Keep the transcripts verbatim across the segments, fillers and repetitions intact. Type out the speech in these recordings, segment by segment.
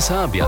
Serbia.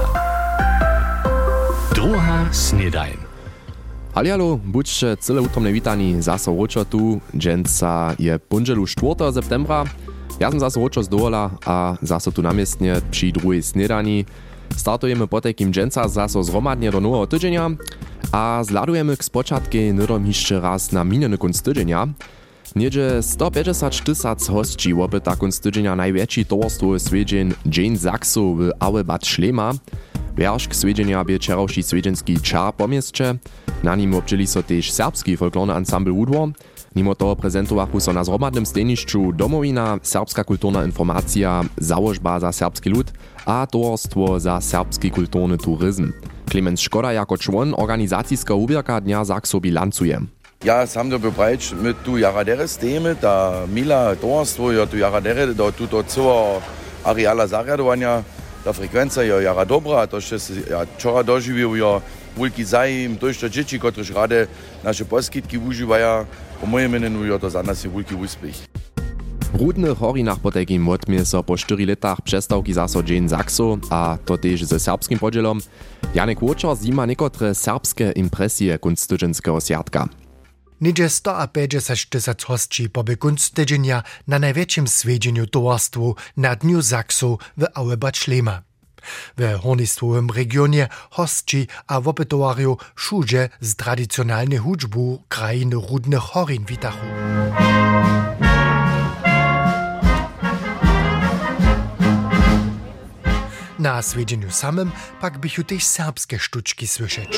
Druga snedajn. Hallo, buďte celé utromne witani, zaso ročo tu, dženca je ponželu czwartego septembra. Ja som zaso ročo z dohola a zaso tu namiestne przy druhej snedani. Startujemy po takim dženca zaso zromadnie do nového tydzienia a zladujemy k spočatke nydom jeszcze raz na minjeny kunc tydzienia. Niedzie sto päťdesiat tysac hostí opyta kunc tydzienia największy towarstwo swiedźeń Dzień Zaksu w Auebad Šlema. Wierszk swiedźenia bie wczorajszy swiedźenski czar po mieście. Na nim obczyli so też serbski folklorny ensemble Udwar. Mimo toho prezentowachu so na zromadnym stejnišću Domowina, serbska kulturna informacja, załožba za serbski lud a towarstwo za serbski kulturny turyzm. Klemens Škoda jako człon organizacijska ubierka Dnia Zaksu bilancuje. Ja sam to bebrać my tu jaradere stejmy, ta mila towarstwo, ja tu jaradere do tuto całego areala zarjadowania, ta frekwencja je jara dobra, to się ja wczora dożywił ja wielki zajm, to jeszcze dzieci, którzy rade nasze poskitki używają, po moim mieniu je to za nas wielki uspech. W Rudnych Horinach po takim odmie so po czterech latach przestawki zaso Dzień Zaksu, a to też ze serbskim podzielom. Janek Łočar zima niekotre serbskie impresje kunc tydženského sviatka. Niedzie sto päťdesiat tysac hostí poby kunc tydzienia na największym swiedźeniu towarstwu na Dniu Zaksu w Auebad Šlema. W hornistwowym regionie hostí a wopytowarju wszędzie z tradycjonalnej hudżbu krainy Rudnych Horin witachu. Na swiedźeniu samym pak bychu też serbskie sztuczki słyszeć.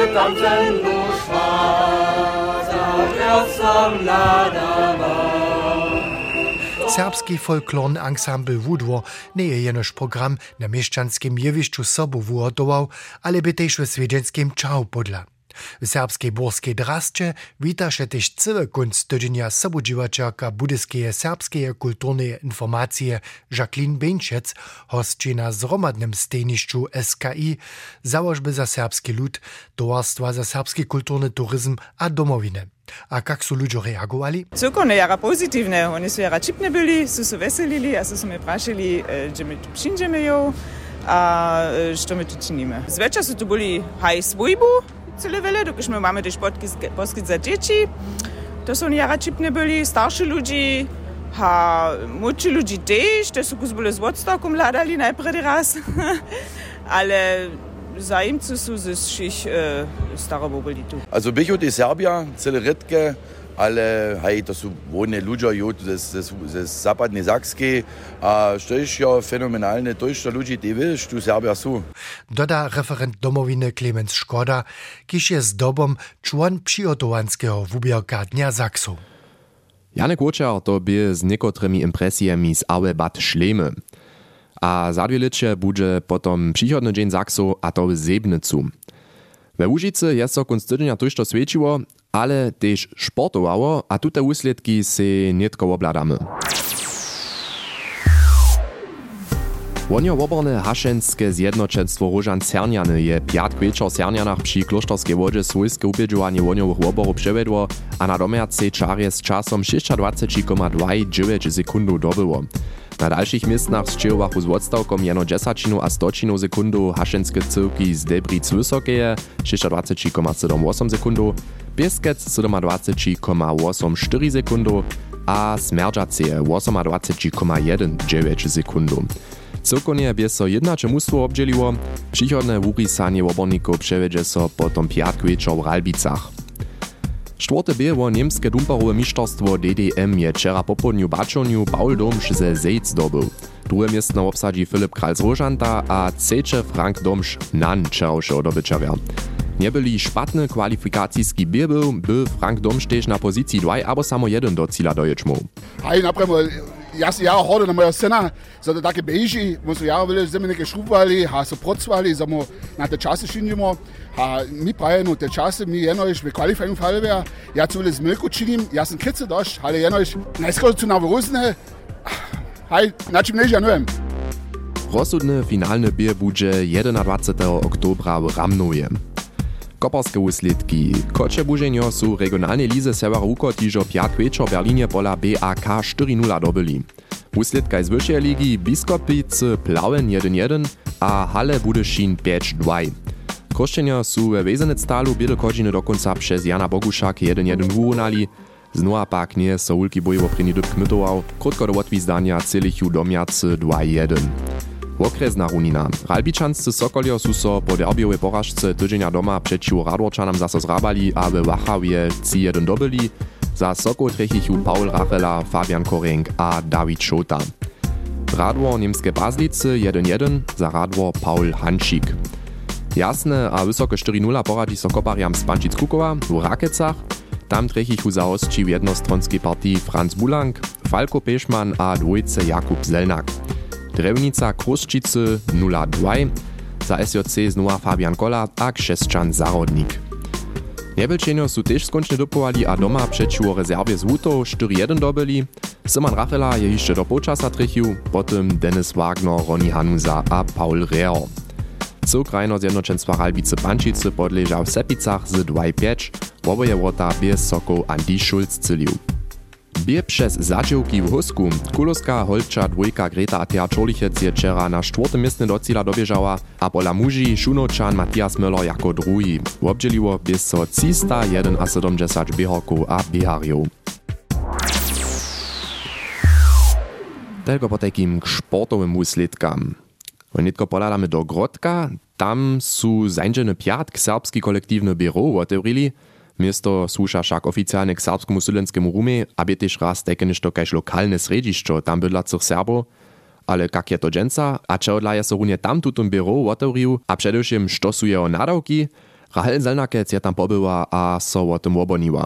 Serbski folklorny ensemble Udwar nie je jenoż program na mieszczanskim jewiszczu sobu wuhotował, ale by też w swiedźenskim czał podla. W serbskiej borskiej drasce wita się też cały kunc tydzienia sobudziwaczarka budyskie serbskie kulturne informacje Jacqueline Beńczec, hostči na zromadnym stejnišću S K I, założby za serbski lud, towarstwa za serbski kulturny turyzm a domowiny. A jak są ludzie reagowali? Cyrko jara pozytywne, oni są jara čipne byli, są się weselili, a są mnie praszili, że my tu przyjdziemy ją, a co my tu czynimy. Zwečer są tu byli haj swójbu, cele wiele, dokud my mamy też poskyt za dzieci, to są jara čipne byli, starsi ludzi, a młodsi ludzi też, to są byli z odstokiem ladali najpierw raz, ale zajemcy są ze wszystkich e, starobo byli tu. Also bych od Serbia, cele rytke, ale hej, to są wolne ludzie ze, ze, ze zapadnej Sakskiej, a to jest ja fenomenalne, to jest to ludzie, die wiesz, tu Serbia są. Doda referent domowiny Klemens Škoda, kiż jest dobom człon przygotowanskiego wubierka Dnia Zaksu. Janek Łočar to by z niekotrymi impresjami z Auebad Šlemy. A za dwie licze będzie potom przychodny Dzień Zaksu, a to w Sebnicu. We Łužicy jest so kunc tydzienia tuż to świeciło, ale też sportowało, a tute usledki se nietko obladamy. Wonio woborne hašenskie zjednoczenstwo Różan Cernjany je piatk wieczor w Cernjanach przy Kloštorskej wodzie swojskie upědžovanie woniowych woborów przevedło, a na domercej czarje z czasem dwadzieścia sześć przecinek dziewięć sekundów dobyło. Na dalszych miejscach sčejowachu z odstawkom jeno dziesięcinu a stocinu sekundu hašenske cyrki z Debric Wysokeje dwadzieścia sześć przecinek osiem sekundów, Pieskec dwadzieścia siedem przecinek osiemdziesiąt cztery sekundów a Smerdżaceje dwadzieścia osiem przecinek dziewięć sekundów. Cyrkonie bie so jednacze mustwo obdzieliło, przychodne wurisanie oborników przewiedzie so potom piatk wieczor w Ralbicach. Czwarte było niemskie dumparowe mistrzostwo D D M je wczera po południu baczoniu Paul Domsch ze Zejc dobył. Drugie miejsce obsadzi Filip Kral z Różanta, a trzecie Frank Domsch nan wczorajszy odobyczawia. Nie byli szpatny kwalifikacijski bier był, by Frank Domsch też na pozycji dwa albo samo jeden do cíla doječmu. Hej, napremo, ja si jara horde na moja scena, so to takie beži, mo so jara vele zeme neke šrubvali, ha so procvali, samo na te čase činimo, ha mi prajeno te čase, mi jednož v kvalifikacijum falveja, ja tu vele z milku činim, ja sam kice došť, ale jednož najskoro tu na vorusne, hej, na čim než ja neviem. Rozsudny finalny bier bude dwudziestego oktobra w Ramnoje. Koparskie usledki. Koče buženjo su regionalne lize Severa Ukotižo piatk večer v Berlinie pola B A K cztery nula dobyli. Wusledka z wyższej ligi Biskopice Plauen jeden jeden a Halle Budyšin pięć dwa. Košćenja su we Wezenectalu běle kodźiny do konca przez Jana Bogušak jeden jeden wurunali, znova pak nie so ulki bojowo první dyb kmitował, krótko do odwizdania celichu domjacy dva jeden. Okresna runina. Ralbičanscy Sokolio su so po derbiowej porażce tydzienia doma przeciw Radworčanom zaso zrabali, a we Wachawje trzy jeden dobyli, za Sokol trechichu Paul Rachela, Fabian Korenk a Dawid Šota. Radwor niemskie Bazlice jeden jeden, za Radwor Paul Hančík. Jasne a wysoke cztery nula poradzi so kopariam z Pančic Kukova w Rakecach. Tam trechichu za hostči w jednostronskiej partii Franz Bulank, Falko Pešman a dwójce Jakub Zelnak. Drewnica Kruščice nula dwa, za S J C znova Fabian Kola a Krzeszczan Zarodnik. Nebelčenjo su tež skončne dopovali a doma przeciw rezerwie z Wutov cztery jeden dobyli. Simon Rachela je jeszcze do polčasa trechił, potem Dennis Wagner, Ronny Hanusa a Paul Rehr. Cokrajno zjednoczenstwa Ralbice Pančice podleżał w Sepicach z dwa pięć, woboje wrota bez Sokoł Andi Schulz cylił. Bie przez zadziałki w Husku, Kulowska, Holča, dwójka Greta a Thea Czorlichec je wczera na czwartym miejscu do cíla dobieżała, a pola muži Šunočan Matthias Möller jako drugi. Obdzieliło bez so trzysta siedemdziesiąt běhorków a běharjów. Tylko po takim sportowym wusledkam. Onitko podadamy do Grodka, tam su zańdżeny piatk serbski kolektywny biuro otewrili. Miesto słuša však oficjalnie k serbskemu studentskému rumie, aby też raz takie ništo kaž lokalne središćo tam bydlacych Serbov. Ale kak je to dženca, a čehodla je so runie tam tutum biuro otewrił, a především što su jeho nadawki, Rahel Zelnakec je tam pobyła a so o tym oboniła.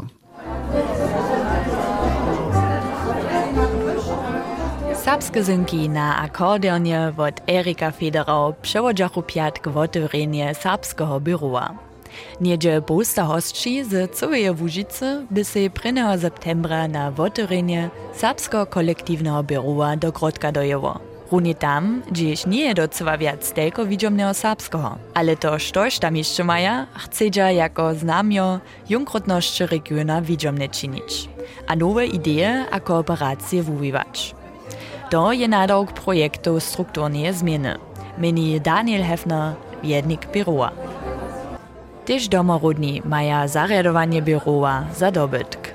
Serbske zynki na akordeonie od Erika Federau przewodzachu piatk w otewrenie serbskiego biura. Niedzie bosta hostči z całej Łužice by se prvního septembra na otewrenie serbskiego kolektywnego biura do Grodka dojeło. Runie tam, gdzieś nie je docela wiac tylko widziomnego serbskiego, ale to štož tam jeszcze maja, chcedza jako znamio junkrotności regiona widziomne czynić, a nowe idee a kooperacje wuwiwać. To je nadawk projektu strukturnie zmiany, meni Daniel Hefner, wiednik biura. Tež domorodni maja zarjadowanie biura za dobytk.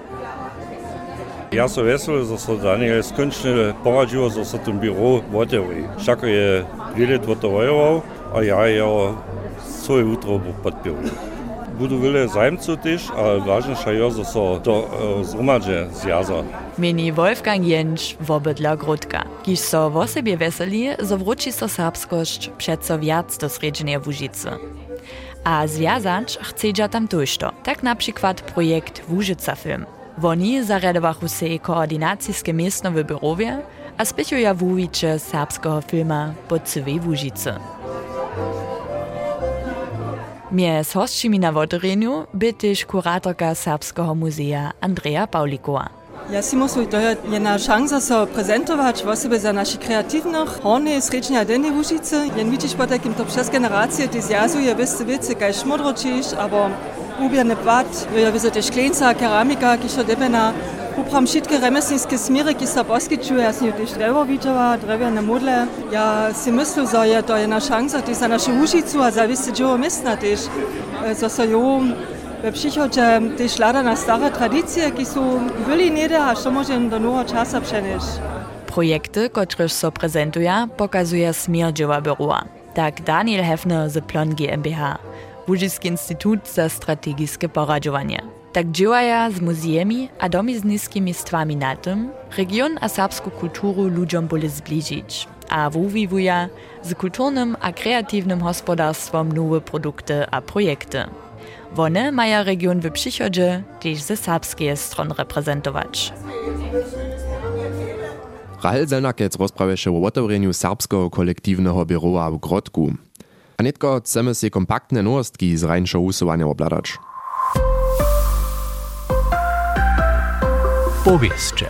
Ja so vesel, że so Daniel skończnie poradziło, że so tym biuro otewri. Všako je dwie lata wojował, a ja jeho całe jutro podpił. Budu wiele zajmców też, ale ważniejsze jest, że so to zgromadźe zjaza. Meni Wolfgang Jentsch wobydla Grodka, kiż so w sobie weseli, że wróci so serbskość przeco wiac do sredźnej Łužice. A związać chcedza tam tużto, tak na przykład projekt Łužica Film. Woni zarjadowachu se koordynacijskie miejsce w biurowie, a spěchuja wuwicze serbskiego filma po całej Łužice. Mjez hostčimi na otewreniu by też kuratorka Serbskiego Muzea Andrea Paulikowa. Ja si myslím, to je jedna šansa sa prezentovať v osobe za našich kreatívnych, hornej, srednej a dennej Łužice. Jen vidíš po takým to přes generácie, ty zjazuje veste veci, kaj šmodročíš, abo ubierne plat, jo je tiež klinca, keramika, ki šo debena. Upram všetky remeslnícke smíry, ki sa poskyčujú, ja si ju tiež drevo videla, drevené modle. Ja si myslím, že je to jedna šansa tiež za našu Łužicu a za veste džovo miestna tiež. Zase jo, we przychodzie też lada na stare tradycje, ki są byli niede, a što możemy do nowego czasu przenieść. Projekty, któreż so prezentuje, pokazuje Smierdźewa biura. Tak Daniel Hefner z Plon GmbH, Łužický instytut za strategiczne poradzowanie. Tak działaja z muzeami a domizniskimi stwami na tym, region a serbską kulturu ludziom boli zbliżyć, a wuwiwuja z kulturnym a kreatywnym gospodarstwom nowe produkty a projekty. One maja region w przychodzie też ze serbskiej strony reprezentować. Rahel Zelnakec rozprawia się o otewreniu serbskiego kolektywnego biura w Grodku. A netko chcemy się kompaktne nowostki z rańszego usuwania obladać. Powieszcze.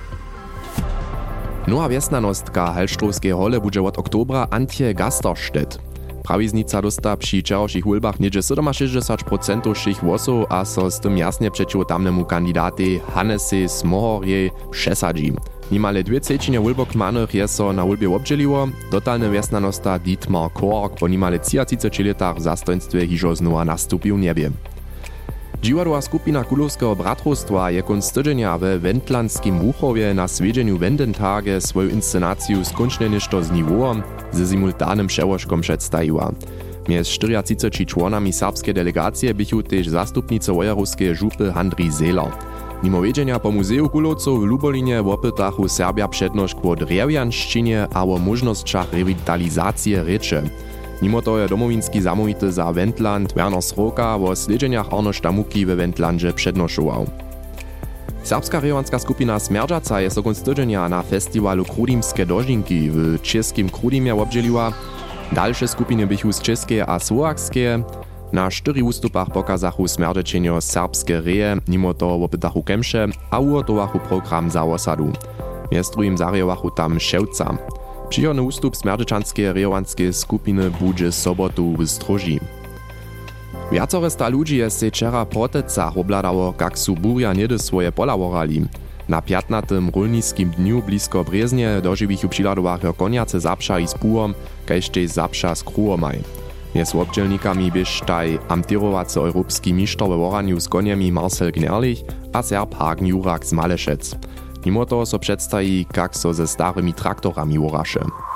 Nowa wiesnanostka Halštrowskiej hole bude od oktobra Antje Gasterstedt. Prawiznica dosta przy wczorajszych hulbach niedzie sześćdziesiąt procent všich włosów, a so z tym jasnie przeciw tamnemu kandidaty Hannese Smohorje przesadzi. Nimale dwie trzecine wulbokmanych je so na wulbie obdźeliło, dotalny wjesnanosta Dietmar Kork po nimale třiceti letach w zastojnstwie hižo znowa nastupił niebie. Dziwadła skupina Kulowskiego bratrostwa je konc tydzienia we Wendlandskim Łuchowie na swiedźeniu Wendentage swoją inscenację skończnie ništo z niwoom ze simultanym przełożkom przedstawiła. Mjez czterdziestočtyřmi członami serbskiej delegacji bychu też zastupnice wojerowskiej żupy Handri Zeller. Mimo wiedzienia po Muzeju Kulowców w Lubolinie wopytachu Serbia przednošć o drewjanszczynie a o możnościach rewitalizacji rzeczy. Mimo to je domowinski zamówity za Wendland Werner Sroka o sledźeniach Arno Štamuki we Wendlandže přednošoval. Serbska rejonska skupina Smerdžaca je so konc tydzienia na festiwalu Krudimske dožinki w czeskim Krudimie obdźeliła. Dalsze skupiny bychu z czeskie a słowakskie. Na cztery ustupach pokazachu smerdečenjo serbskie reje, mimo to wopytachu kemše a ugotowachu program za osadu. Mjez drugim zarjowachu tam Ševca. Przychodny ustup smerdečanskiej rejowanskiej skupiny budże sobotu w Stroži. Wiacore sta ludzi je se wczera protecach obladało, jak su burja niedy swoje pola worali. Na piętnastym rolniskim dniu blisko Breznie dożywichu přiladowacho koniace zapša i z pułom, kajž tej zapša z kruhomaj. Mjez obdźelnikami byś taj amtirowacy europski mistrz we woraniu z koniami Marcel Gnerlich a Serb Hagen Jurak z Malešec. Mimo toho so przedstawi, jak so ze starymi traktorami woraše.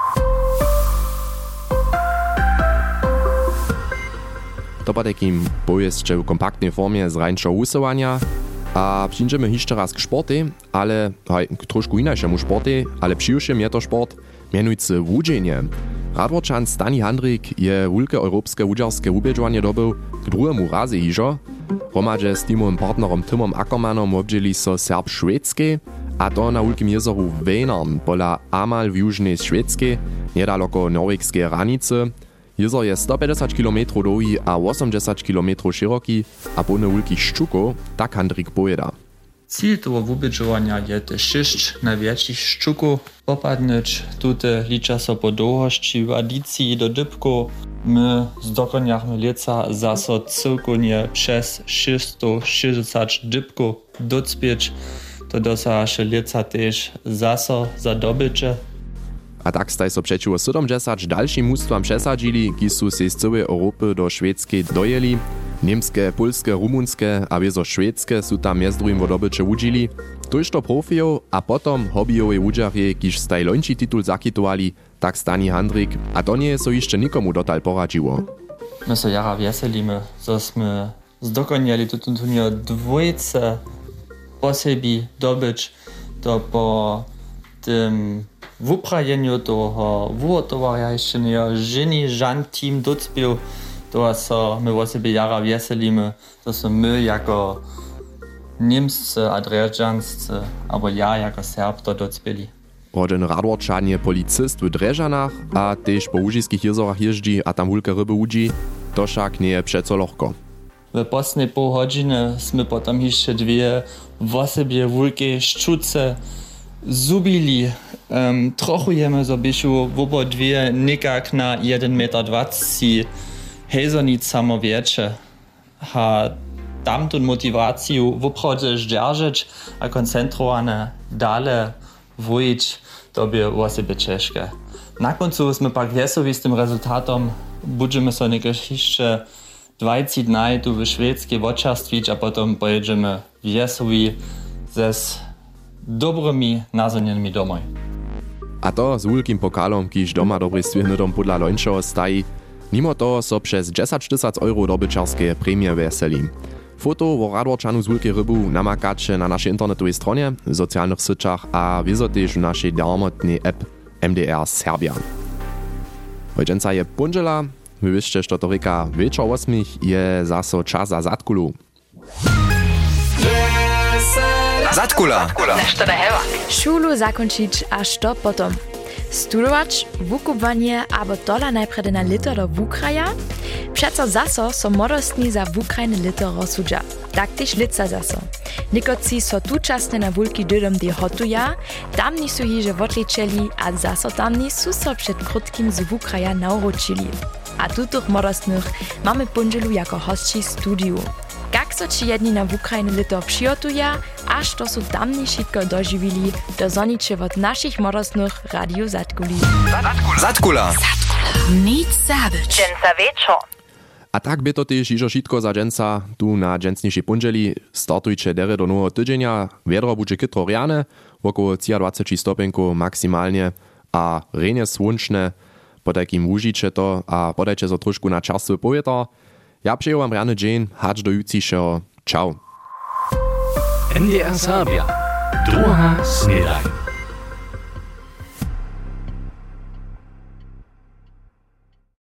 To po takim bojesće w kompaktnej formie z rańszo usuwania, a przyjdziemy jeszcze raz k sporty, ale hej, k troszku inajszemu sporty, ale przyjuszym je to sport, mianujcy wódzenie. Radworčan Stani Handrik je wulke europejskie wódzarskie ubieżowanie dobył k drugiemu razy hižo. Hromadźe z teamowym partnerom Timom Ackermannom obdźeli so Serb Švédskej, a to na wulkim jezoru Vänern, pola Amal w južnej Švédskej, niedaleko norwegskiej hranicy. Jezor je sto päťdesiat kilometrów długi a osiemdziesiąt kilometrów szeroki, a plny wulkich ščukov, tak Handrik pojeda. Cíl toho wubědžovania je te šesť najväčších ščukov popadnúť. Tute liča so po dlhosti v adícii do dybkov. My zdokonjachmy leca zaso celkovnie přes šesťsto šesťdesiat dybkov docpieť. To dosahaše leca tež zaso za dobyče. A tak staj so przeciwko siedemdziesiąt dalszym mustwam przesadzili, ki su se z całej Europy do Szwedzkiej dojeli. Niemskie, polskie, rumunskie a wiezo szwedzkie su tam między drugim wo dobycze wudzili. Tuż to profijów, a potom hobbyjowej wudżarje, kiż staj lończy titul zakitowali, tak Stani Handrik, a to nie so jeszcze nikomu dotal poradziło. My so jara wieselimy, że sme zdokoniali tutun turnier dwójce po sebi dobyć, to po tym w uprajeniu toho wuhotowania jeszcze nie żeni żan team docpił, to so my o sobie jara wieselimy, to so my jako niemscy a drežanscy, albo ja jako Serb to docpili. Rodzen Radworčan je policist w Drežanach, a też po łužiskich jezorach jeździ a tam wulke ryby łudzi, to však nie je přeco lohko. W poslednej pół godziny sme potom jeszcze dwie w sobie wulkie szczuce zubili. Um, trochu jemy zobysiu w obo dwie nikak na jeden metr dwadzieścia hejzonic samo wiecie. Ha tamtą motywację w obchodzie zdержeć a koncentrowane dale wujić, to by o sobie ciężkie. Na końcu sme pak wesowi z tym rezultatem. Będziemy so niekieś jeszcze dwadzieścia dni tu w szwedzkiej woczarstwić, a potem pojedziemy wesowi ze dobrymi nazonienmi domoj. A to z wulkim pokalom, kiż doma dobry swihnydom podla lońšoho staji. Mimo toho so przez dziesięć tysięcy euro dobyczarskie premie weseli. Foto o Radworčanu z wulkiej rybu namakacie na naszej internetowej stronie, w socjalnych syciach a wieso też w naszej darmotnej app M D R Serbia. Hojčenca je punžela, my wiście, że to reka wieczor osmich je zaso czas za Zatkulu. Zatkula. Šulu zakončić a što potom? Studować, wukupowanie albo dola najpredy na lito do Wukraja? Przeco zaso so modostni za Wukrajne lito rozsudza. Tak też lica zaso. Nikoci so tučasne na wulki dydom de hotuja, tamni su hiže wotličeli a zaso tamni su so przed krótkim z Wukraja nauročili. A tutych modostnych mamy punželu jako hostči studiu. Jak so ci jedni na Ukrajiny lito přijotuje, až to su tamni šitko doživili, do zoniče od našich modosnych Radio Zatkuli. Zatkula. Nic zabyć. Dżęca wieczor. A tak by to też iżo šitko za dżęca tu na dżęcniejszej pundzieli startujcie dere do nowego tydzienia. Wiedro będzie kytro riane, około dwadzieścia stopenków maksymalnie, a renie słonczne, po takim užiče to a podajcie za trošku na času povietor. Ja přeju vám rany dzień, hacz do jutrzejšeho. Ciao. N D R Serbia. Druga snedaj.